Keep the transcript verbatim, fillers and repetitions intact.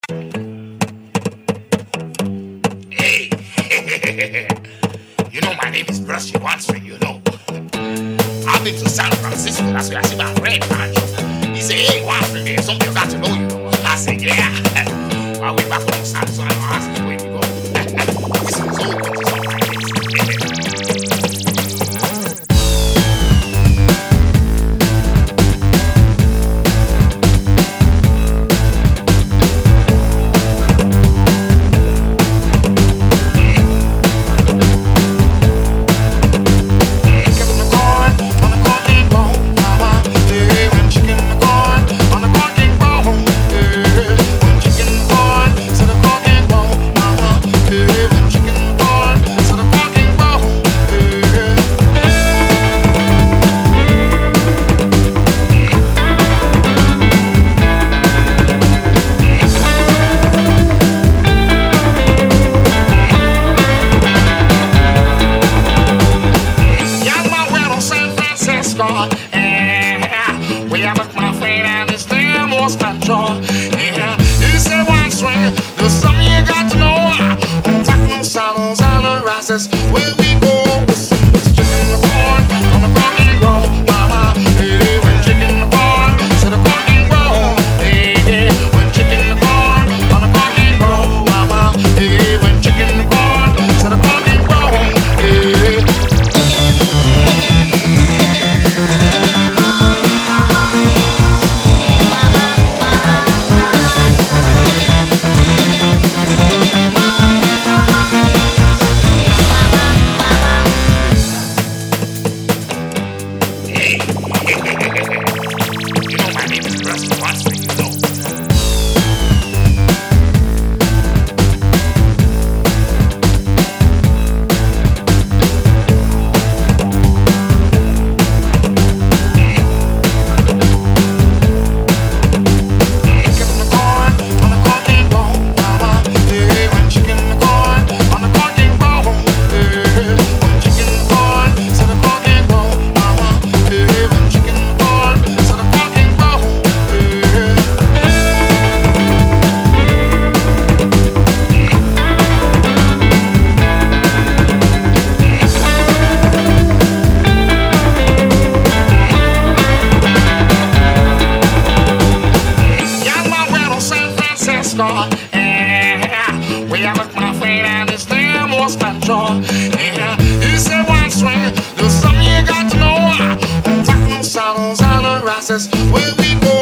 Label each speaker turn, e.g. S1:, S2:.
S1: Hey, you know my name is Brushy Watson, you know. I've been to San Francisco, that's where I see my friend man. He said, hey, Watson, there's something you got to know, you know. I said, yeah. I went back home, so I asked him where you go. This is so good to something like this. Yeah, we have my friend and it's their most control. Yeah, you say one swing, there's something you got to know. Talking saddles and the rises, where we go. It's chicken the corn on the corn and roll, mama. Hey, when chicken the corn, so the corn and roll. Hey, hey, when chicken the corn on the corn and roll, mama. Hey, when chicken the corn, so the corn and roll. Hey. Yeah, we have my friend and it's their most control. Yeah, you say one swing, there's something you got to know. Talking saddles and the rises, where we go.